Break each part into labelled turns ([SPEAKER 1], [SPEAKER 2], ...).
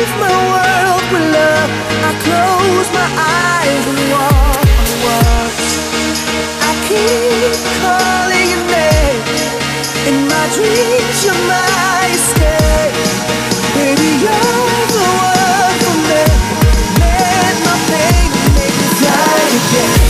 [SPEAKER 1] my world with love. I close my eyes and walk. I keep calling your name. In my dreams, you're my escape. Baby, you're the one for me. Let my pain make me fly again.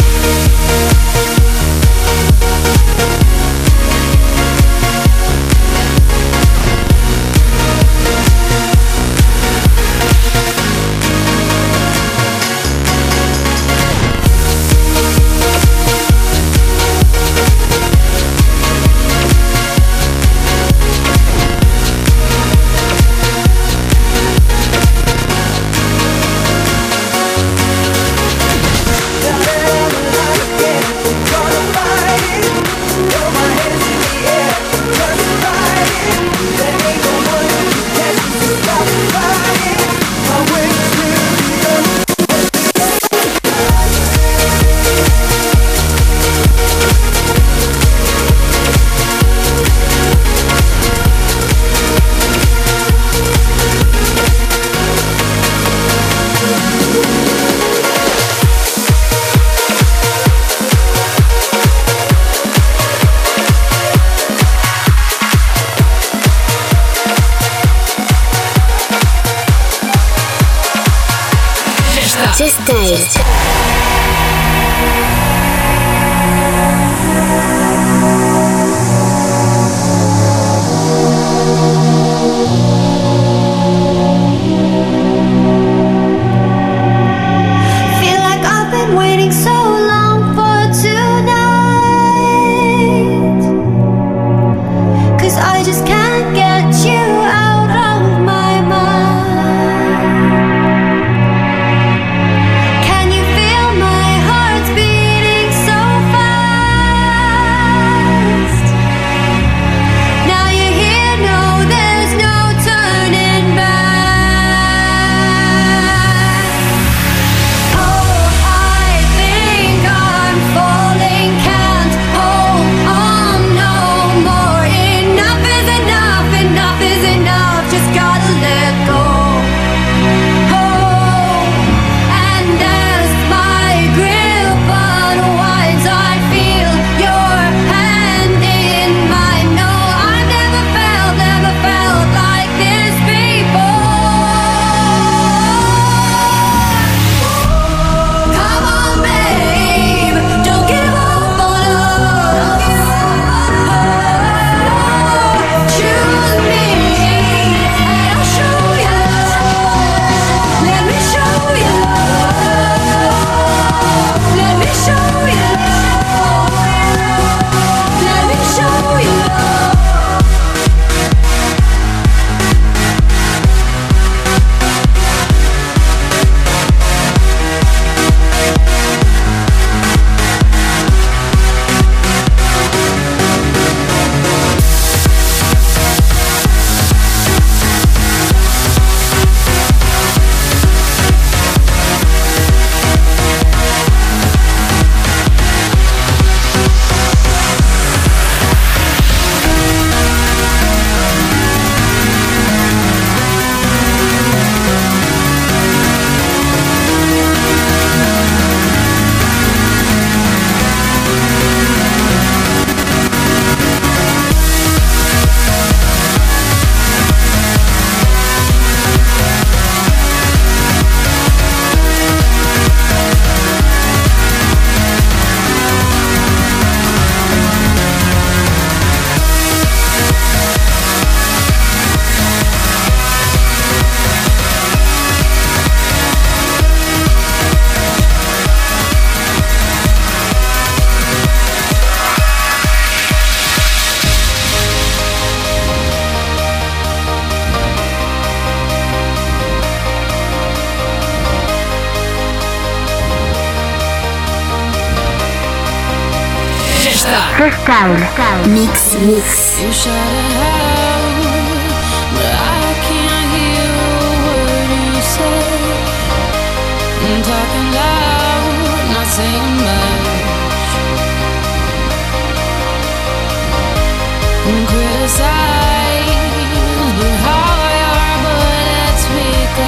[SPEAKER 2] Just taste.
[SPEAKER 3] Freestyle.
[SPEAKER 2] Mix.
[SPEAKER 4] You shout it out, but I can't hear a word you say. I'm talking loud, not saying much. I'm criticized, but how I are, but it's weak.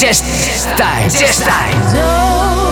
[SPEAKER 3] Just Time.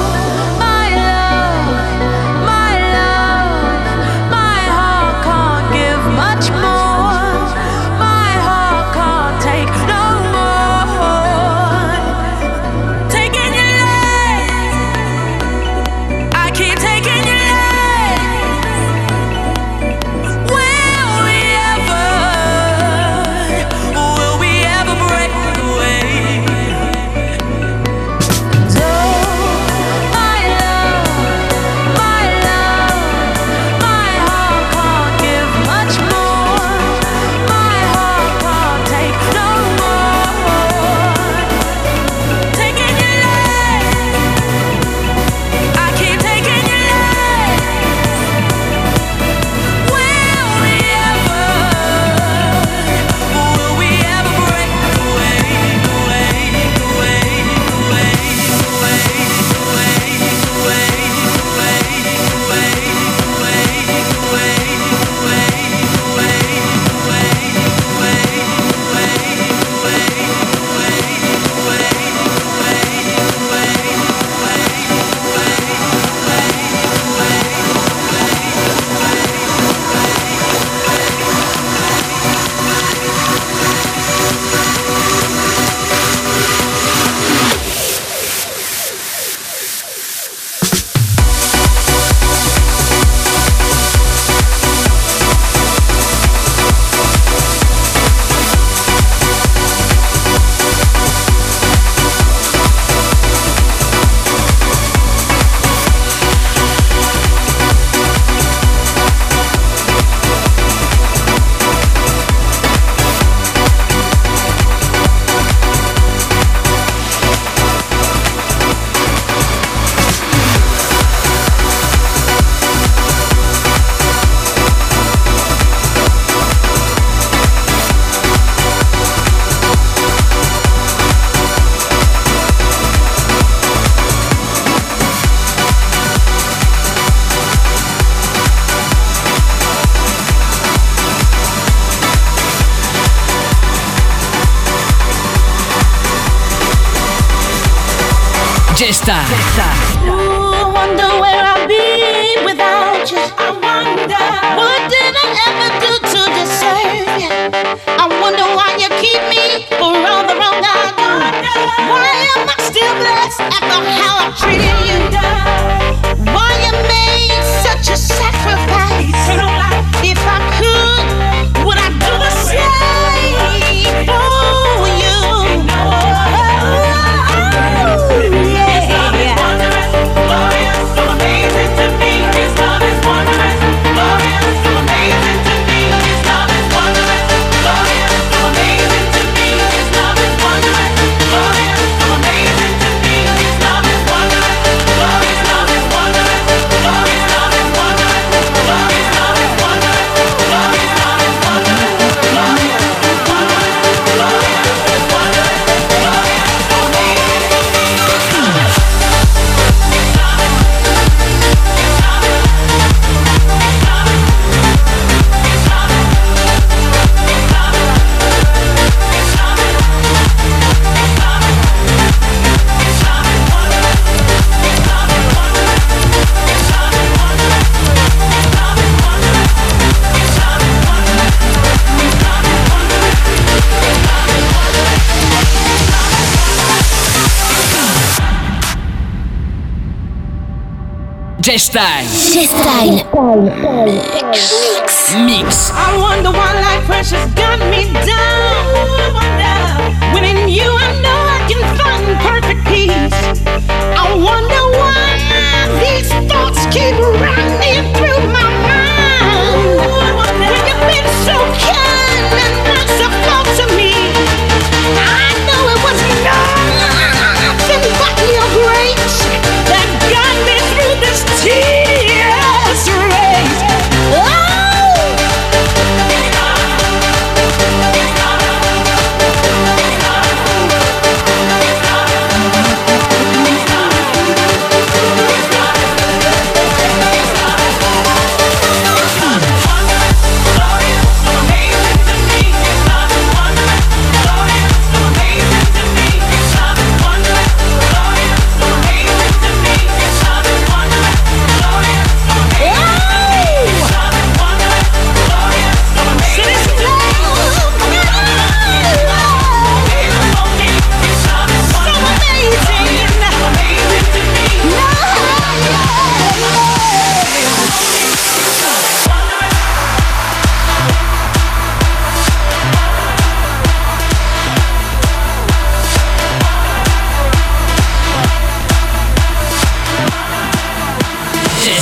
[SPEAKER 5] Gesta.
[SPEAKER 6] Ooh, wonder where I'll be without you. I wonder what did I ever do to deserve you? I wonder why you keep me for all the wrong I do. Why am I still blessed after how I treated you? Why you made such a sacrifice? If I could, would I do the same for you?
[SPEAKER 5] Gesta. Mix.
[SPEAKER 6] I wonder why life pressures got me down. When in you I know I can find perfect peace. I wonder why these thoughts keep running through my mind. When you've been so kind and merciful to me, I know it was nothing but your grace that got me through this tedious race.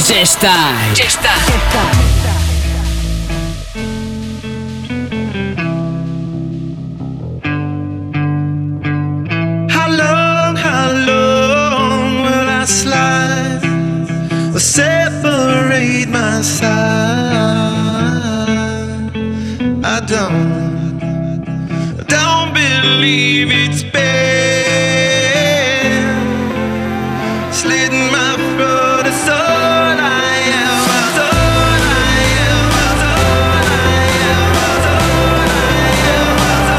[SPEAKER 5] Just Time.
[SPEAKER 3] Just Time.
[SPEAKER 7] How long will I slide or separate my side? I don't believe it's been slitting my throat. It's all I am. It's all I am. It's all I am. It's all I am. It's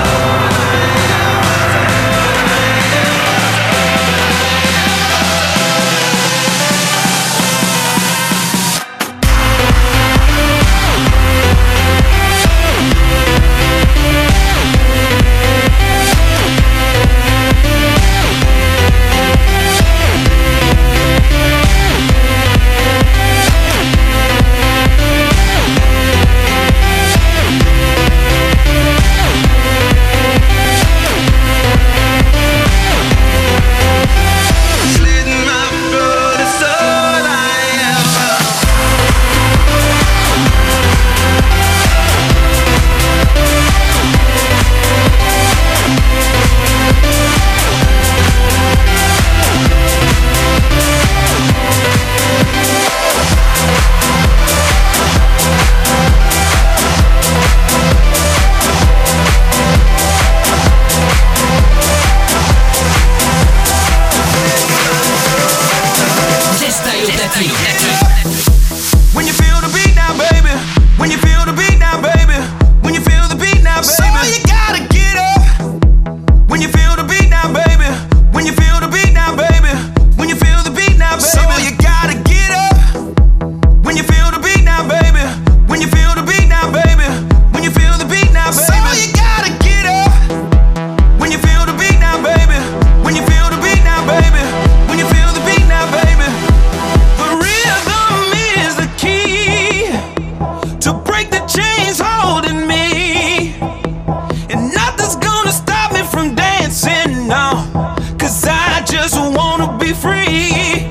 [SPEAKER 7] when you feel the beat now, baby. When you feel the beat now, baby. When you feel the beat now, baby. So you gotta get up. When you feel the beat now, baby. When you feel the beat now, baby. When you feel the beat now, baby. So you gotta get up. When you feel the beat now, baby. When you feel the beat now, baby. When you feel the beat now, baby. So you gotta get up. When you feel the beat now, baby. When you feel the beat now, baby. When you feel the beat now, baby. The rhythm is the key to break the chains holding me, and nothing's gonna stop me from dancing now, 'cause I just wanna be free.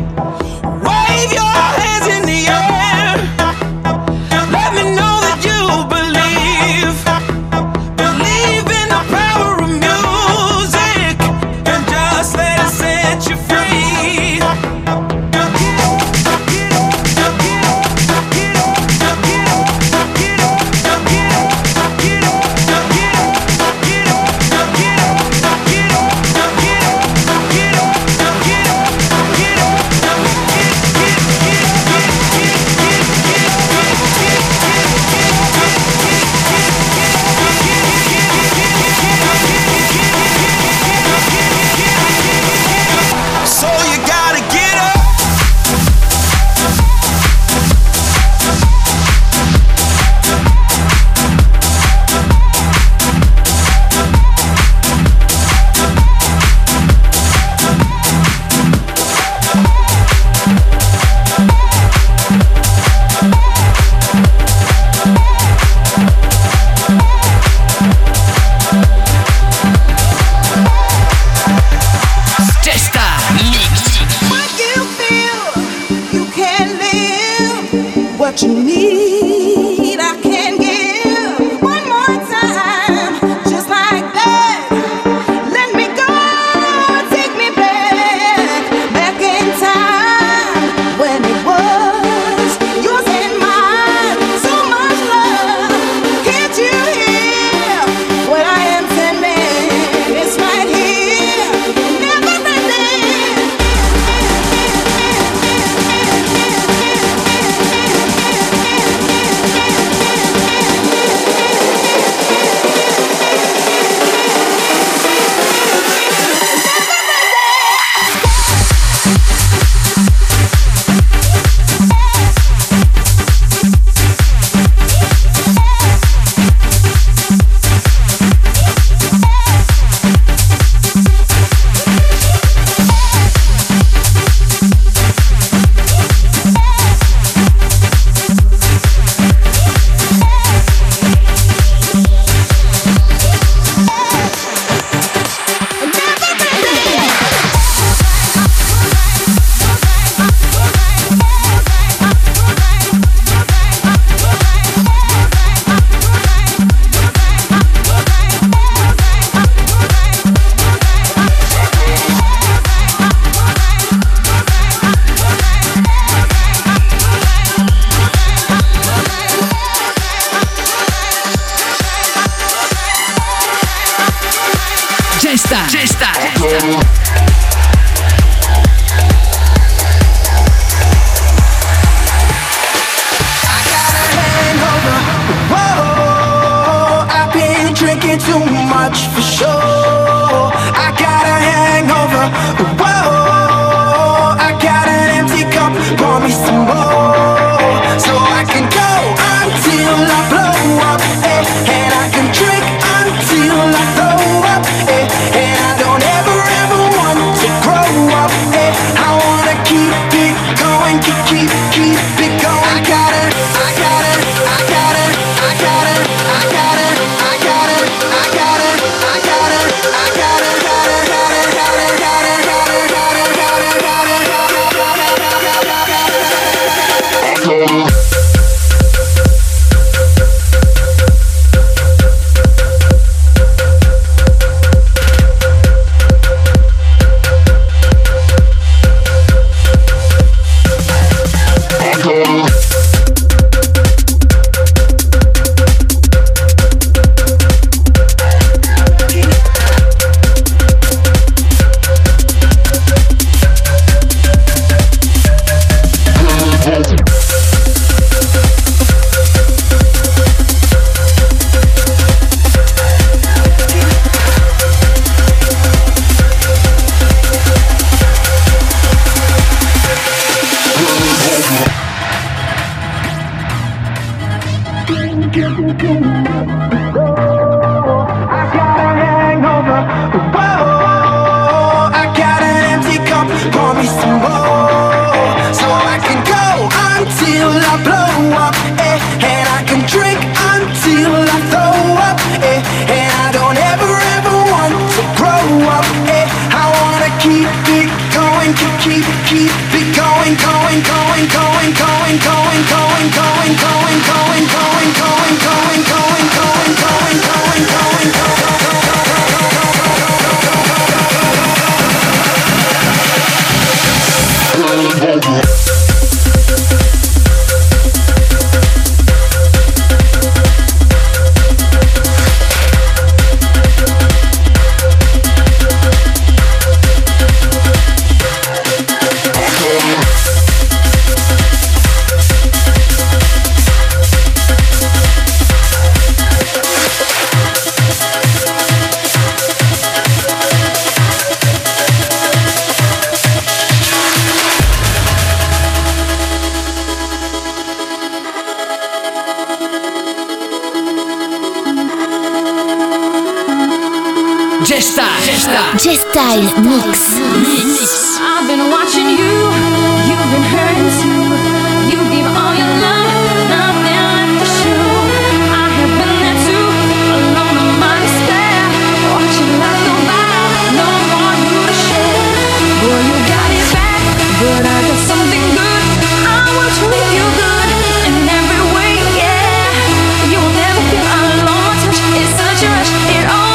[SPEAKER 7] Wave your hands in the air, let me know that you believe in the power of music, and just let it set you free. So you gotta get up.
[SPEAKER 5] Just Time Mix.
[SPEAKER 1] What you feel, you can live. What you need, I can give. One more time, just like that. Let me go, take me back in time when it was yours and mine. So much love, can't you hear what I am sending? It's right here, never ending.
[SPEAKER 2] G-Style Mix.
[SPEAKER 4] I've been watching you, you've been hurting too. You give all your love, nothing left to show. I have been there too, alone in my despair. Watching life go by, no more you to share. Boy, you got it back, but I got something good. I want to leave you good in every way, yeah. You will never feel alone, touch is such a rush, it all.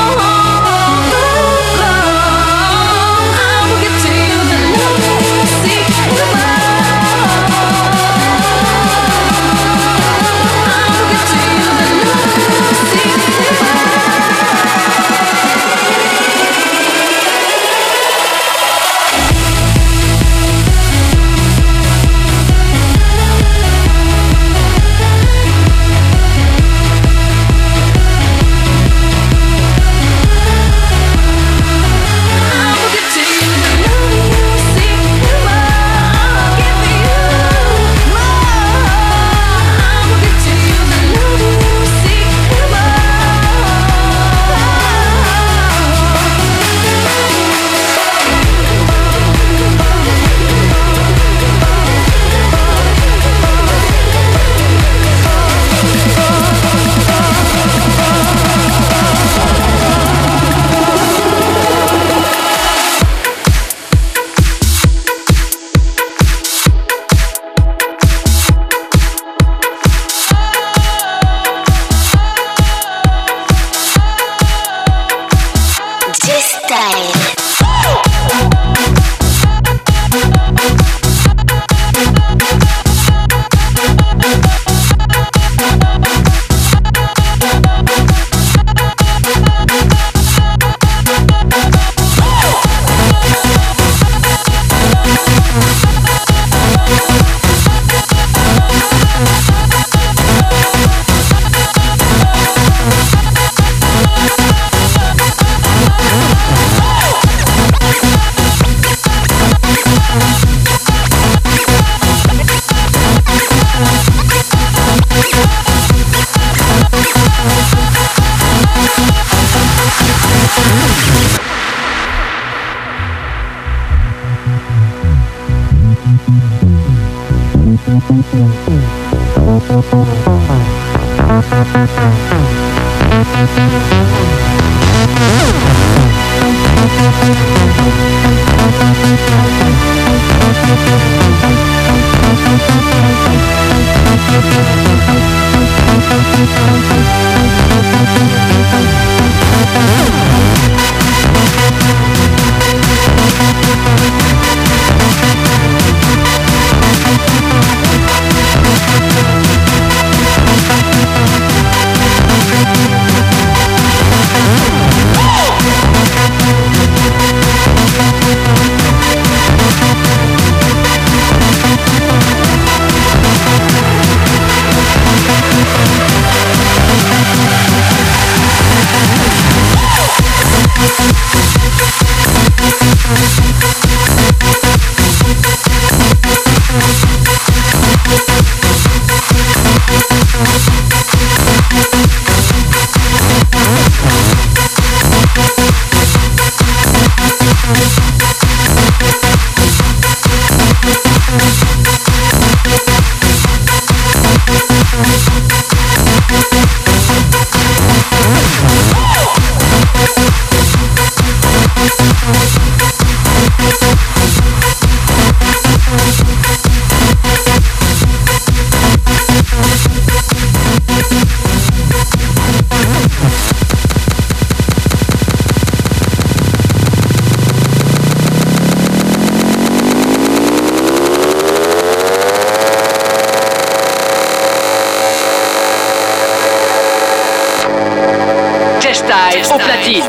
[SPEAKER 3] Style au platine.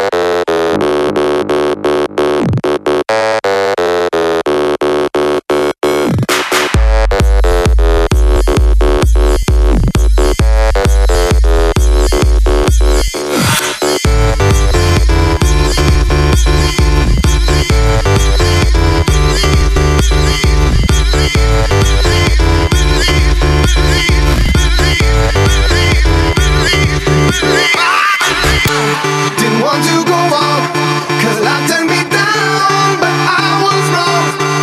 [SPEAKER 7] Didn't want to go on, 'cause life turned me down, but I was wrong.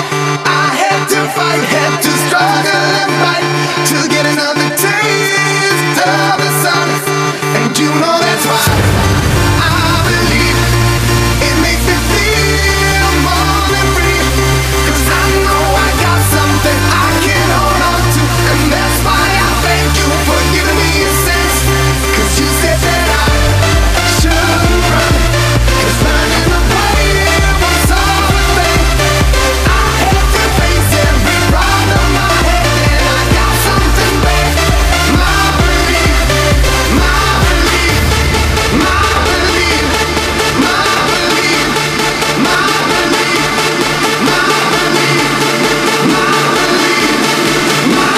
[SPEAKER 7] I had to fight, had to struggle and fight to get another taste of the sun. And you know that's why I believe it makes me feel more than free. 'Cause I know I got something I can hold on to, and that's why I thank you for giving me a sense. 'Cause you said that I shouldn't run, 'cause running away was all the thing. I had to face every problem I had, and I got something back. My belief, my belief, my belief, my belief, my belief, my belief, my belief, my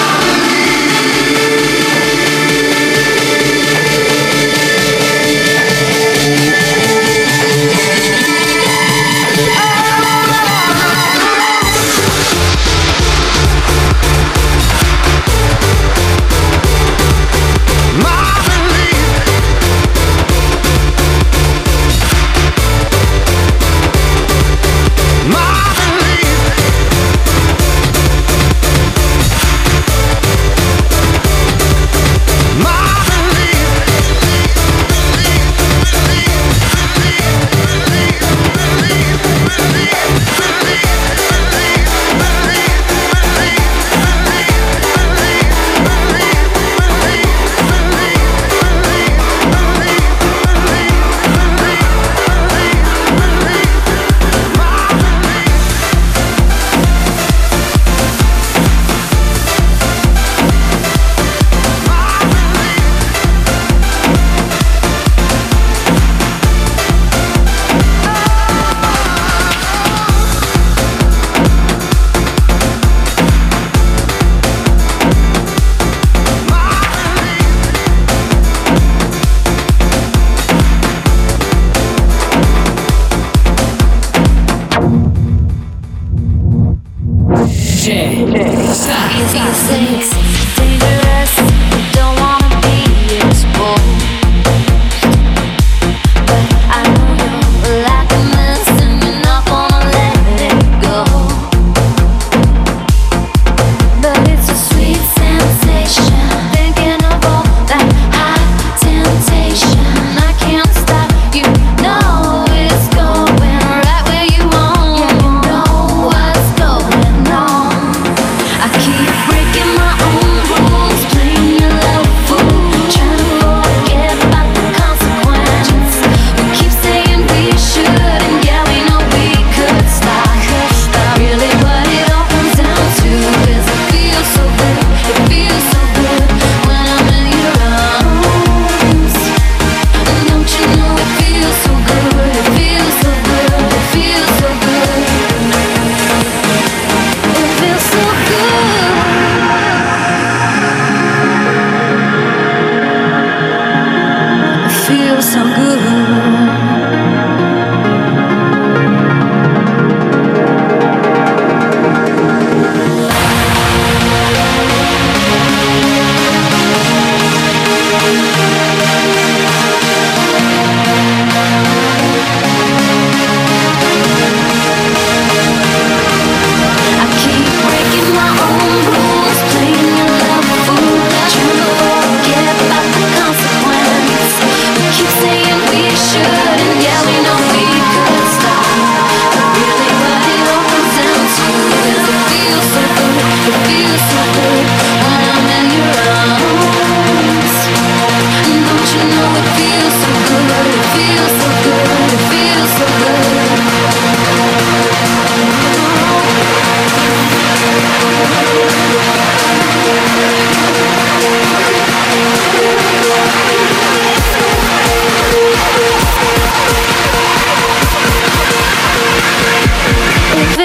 [SPEAKER 4] I keep breaking my own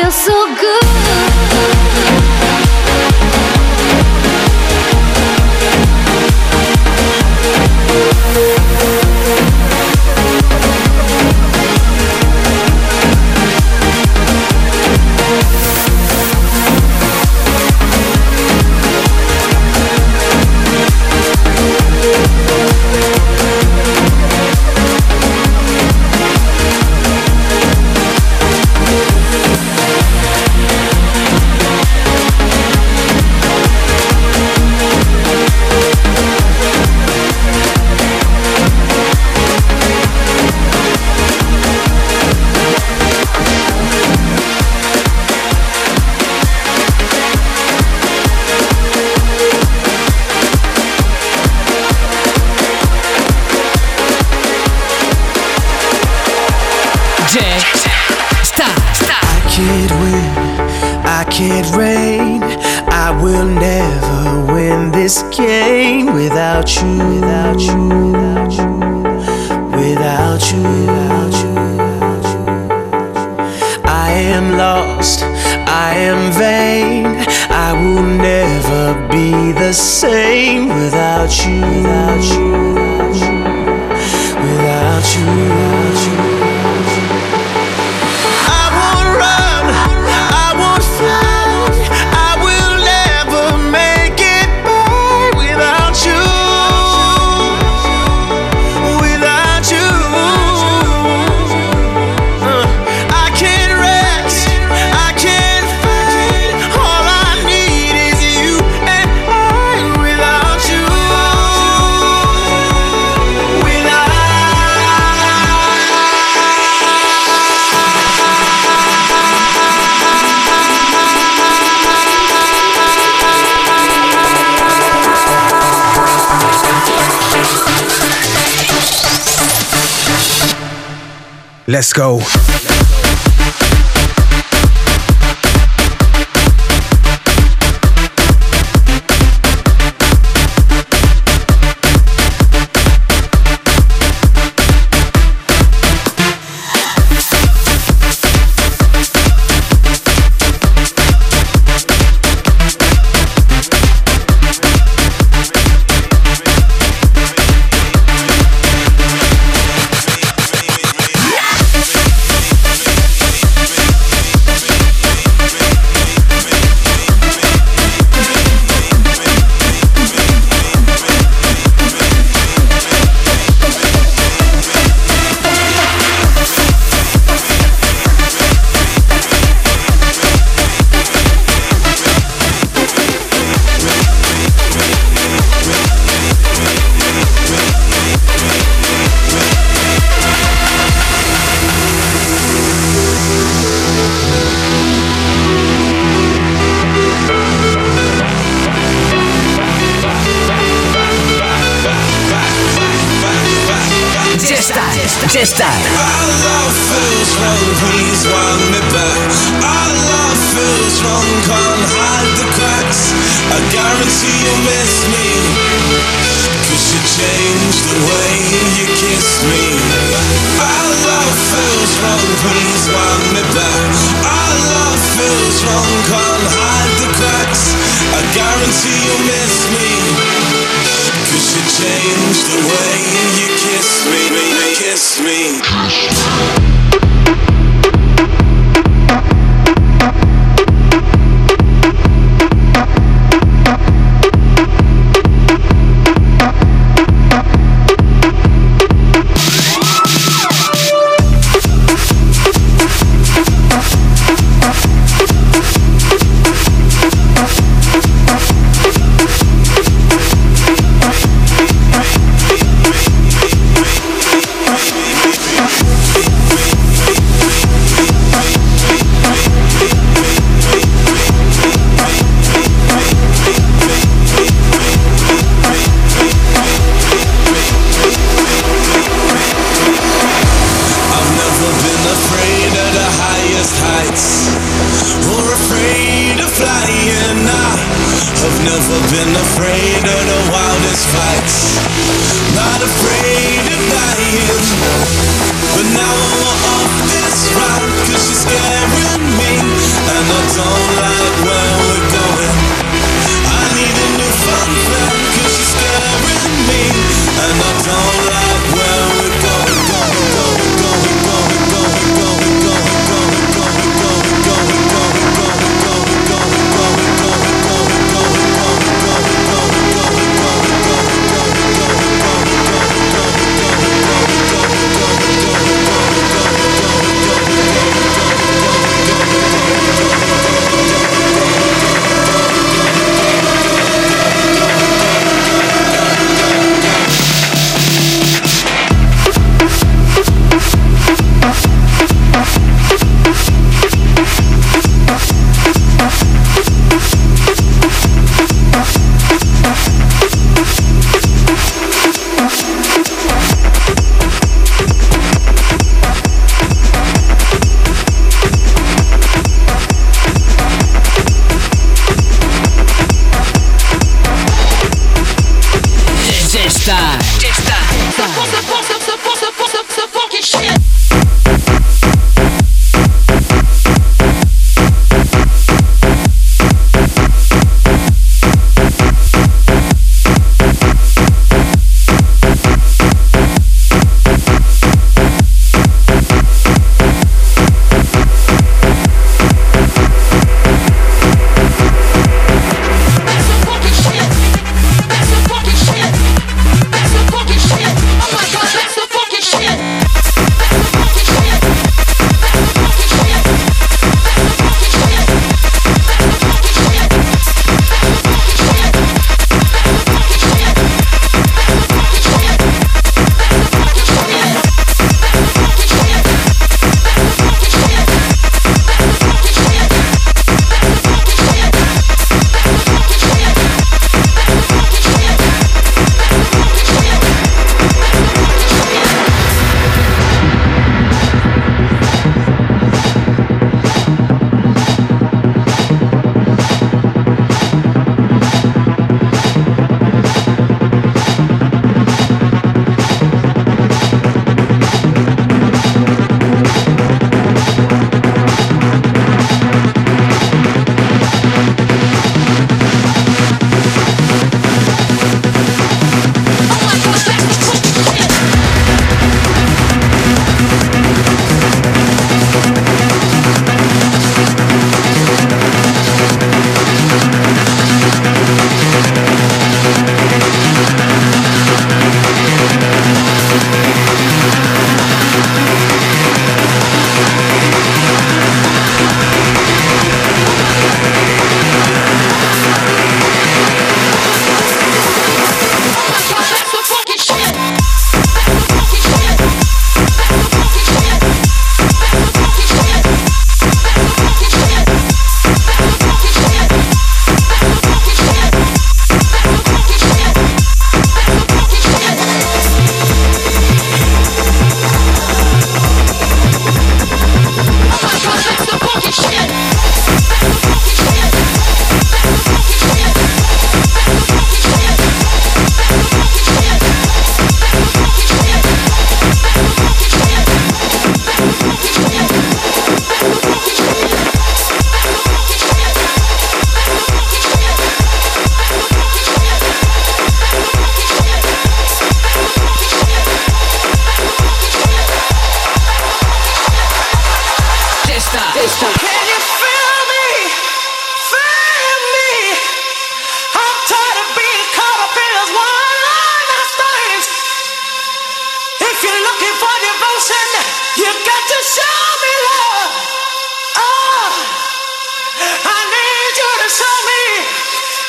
[SPEAKER 4] feels so good.
[SPEAKER 1] Can't reign. I will never win this game without you, without you, without you, without you, without you. I am lost, I am vain. I will never be the same without you, without you, without you, without you, without you.
[SPEAKER 8] Let's go.
[SPEAKER 3] Just die.
[SPEAKER 7] Our love feels wrong, please want me back. Our love feels wrong, can't hide the cracks. I guarantee you'll miss me, 'cause you changed the way you kiss me. Our love feels wrong, please want me back. Our love feels wrong, can't hide the cracks. I guarantee you'll miss me, 'cause you changed the way you kiss me, kiss me. Never been afraid of the wildest fights. Not afraid of dying. But now I'm off this ride, 'cause you're scaring me.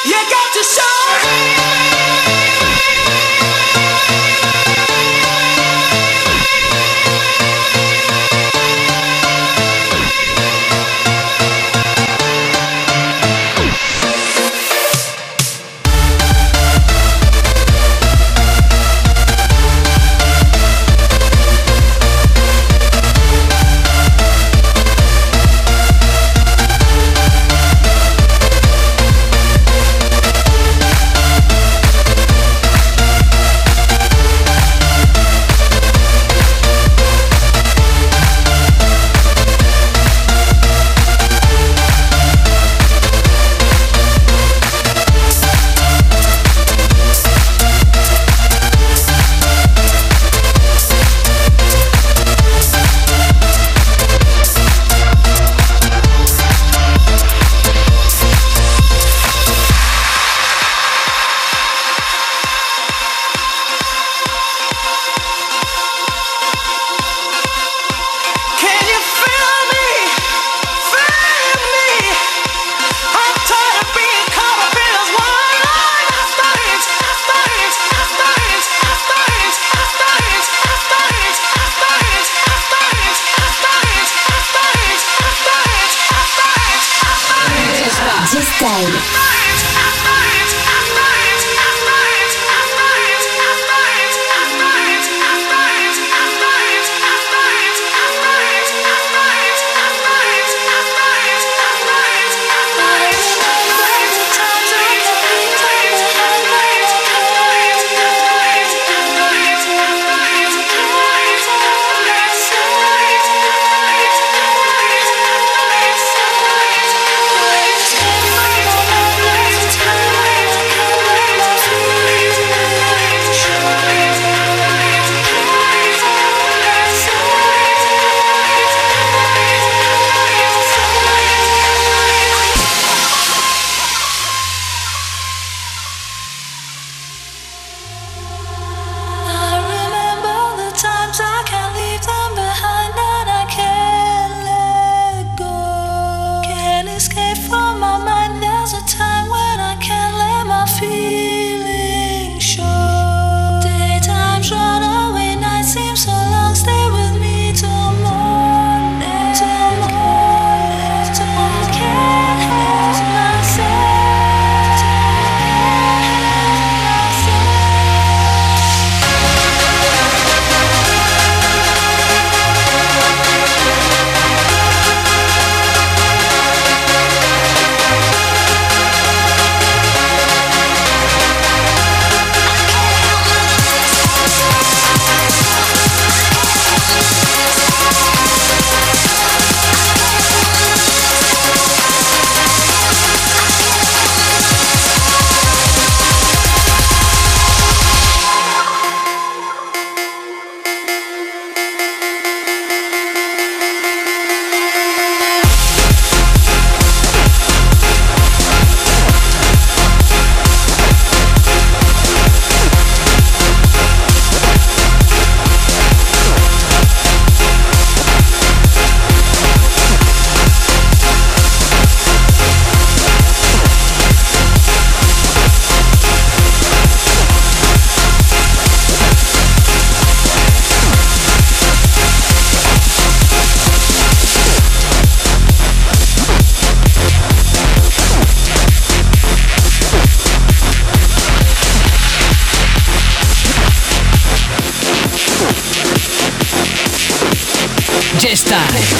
[SPEAKER 5] Jesta.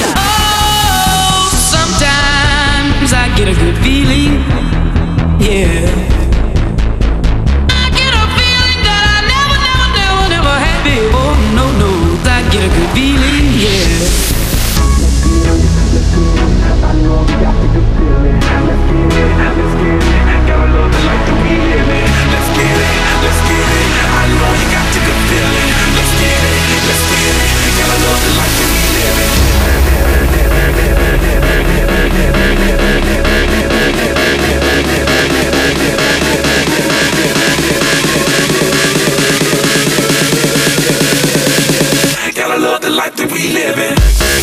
[SPEAKER 6] Oh, sometimes I get a good feeling, yeah. I get a feeling that I never had before. No, I get a good feeling, yeah. I know we got the good feeling. Let's get it. Gotta love it like the we live it. Let's get it. I know you got the good feeling. Let's get it. Gotta love it like the we live it. Gotta love the life that we live in.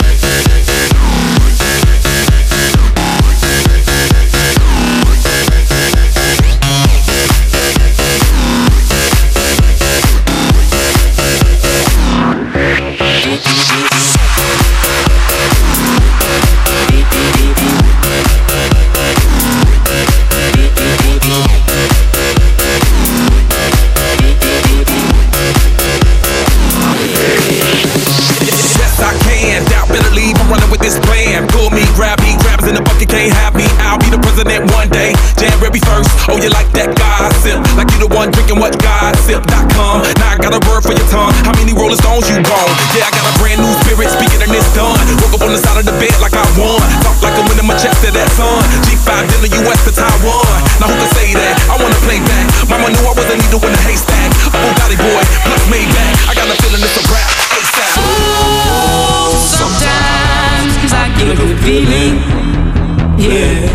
[SPEAKER 9] can't have me, I'll be the president one day. January 1st, oh you like that gossip? Like you the one drinking what gossip.com. Now I got a word for your tongue. How many Rolling Stones you gone? Yeah, I got a brand new spirit speaking and it's done. Woke up on the side of the bed like I won. Talk like I'm winning my chest to that sun. G5 in the US to Taiwan. Now who can say that? I wanna play back. Mama knew I was a needle in the haystack. A Bugatti boy, plus Maybach. I got a feeling it's a rap. ASAP.
[SPEAKER 4] Oh, sometimes I get a good feeling. Yeah.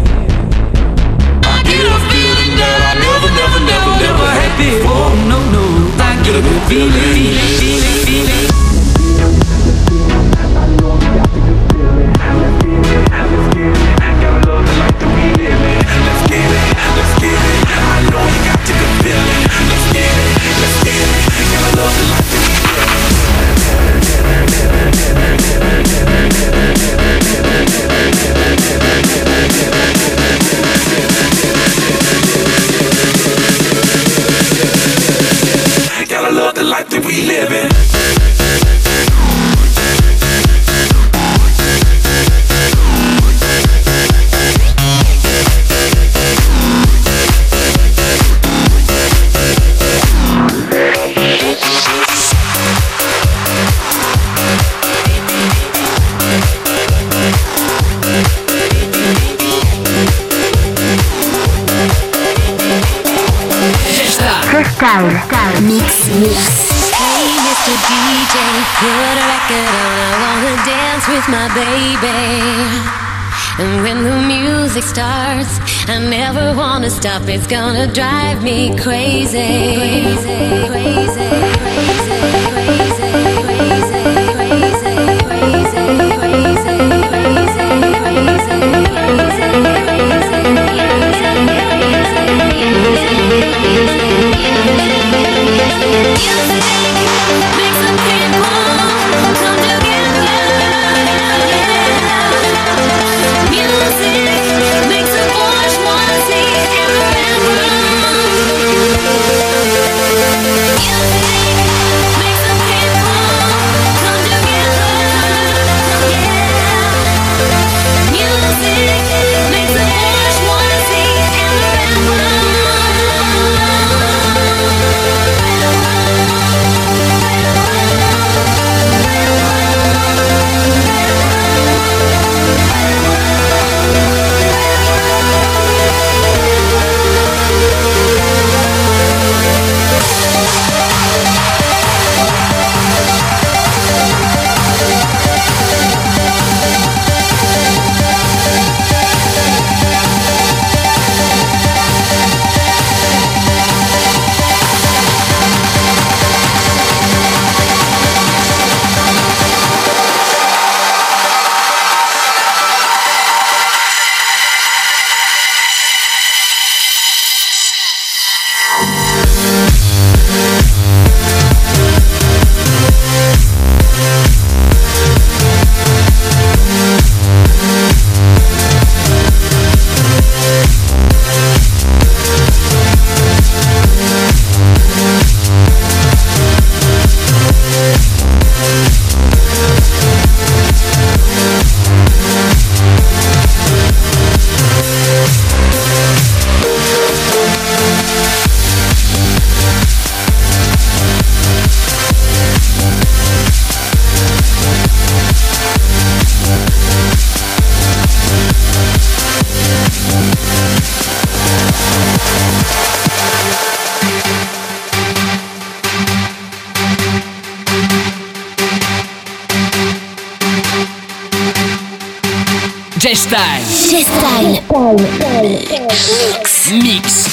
[SPEAKER 4] I get a feeling that I never had before. No, I get a good feeling.
[SPEAKER 9] Gotta love the life that we live in.
[SPEAKER 4] Hey, Mr. DJ, put a record on. I wanna dance with my baby. And when the music starts, I never wanna stop. It's gonna drive me crazy. Crazy, crazy, crazy, crazy, crazy, crazy, crazy, crazy,
[SPEAKER 2] G-Style.
[SPEAKER 5] Mix.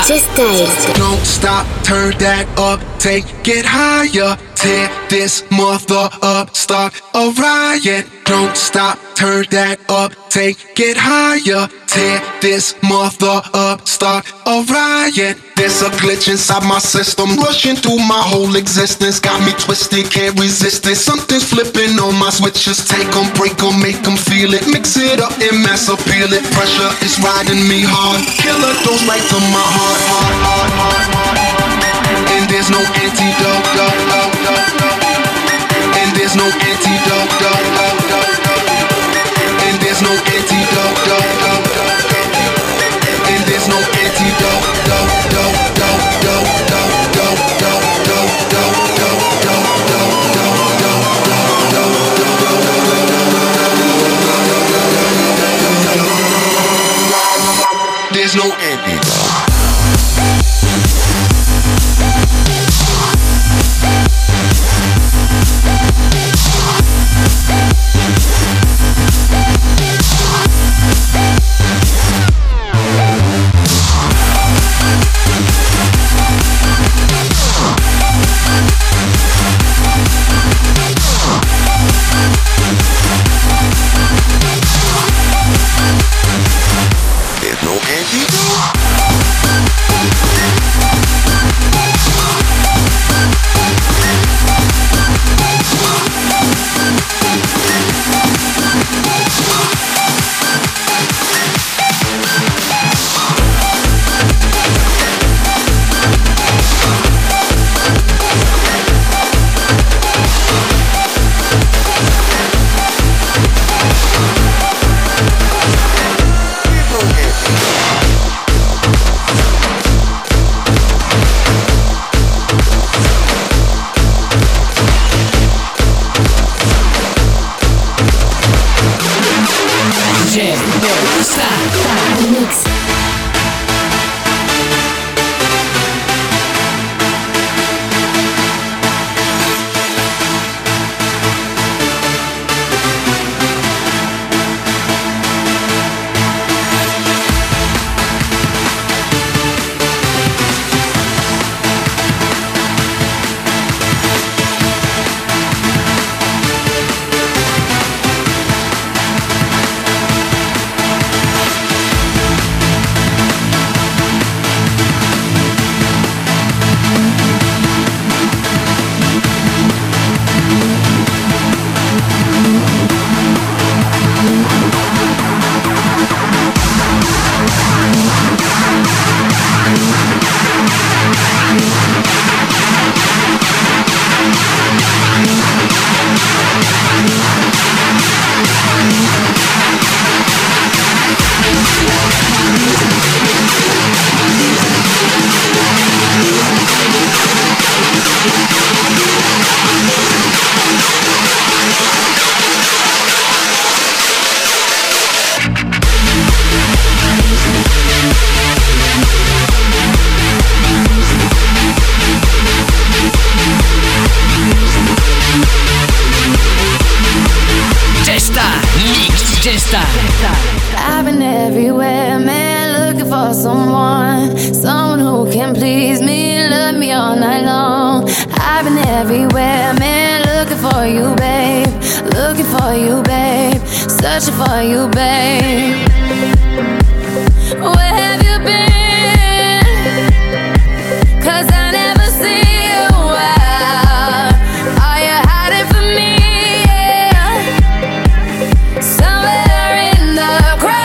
[SPEAKER 2] G-Style.
[SPEAKER 10] Don't stop, turn that up, take it higher. Tear this mother up, start a riot. Don't stop, turn that up, take it higher. Tear this mother up, start a riot. There's a glitch inside my system, rushing through my whole existence. Got me twisted, can't resist it. Something's flipping on my switches. Take them, break them, make them feel it. Mix it up and mass appeal it. Pressure is riding me hard. Killer goes right to my heart, heart, heart, heart, heart. And there's no antidote, and there's no antidote, and there's no antidote, and there's no antidote. There's no antidote.
[SPEAKER 4] I've been everywhere, man, looking for someone who can please me, love me all night long. I've been everywhere, man, looking for you, babe, searching for you, babe. Where have you been? 'Cause I never see you out. Are you hiding from me? Yeah. Somewhere in the crowd.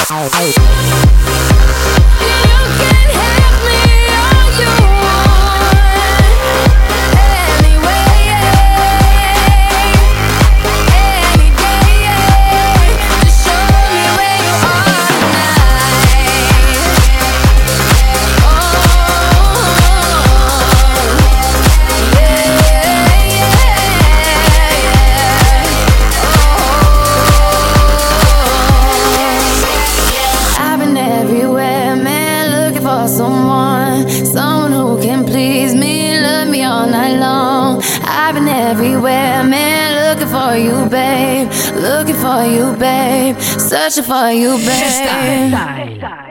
[SPEAKER 4] Someone who can please me, love me all night long. I've been everywhere, man, looking for you, babe. Looking for you, babe. Searching for you, babe.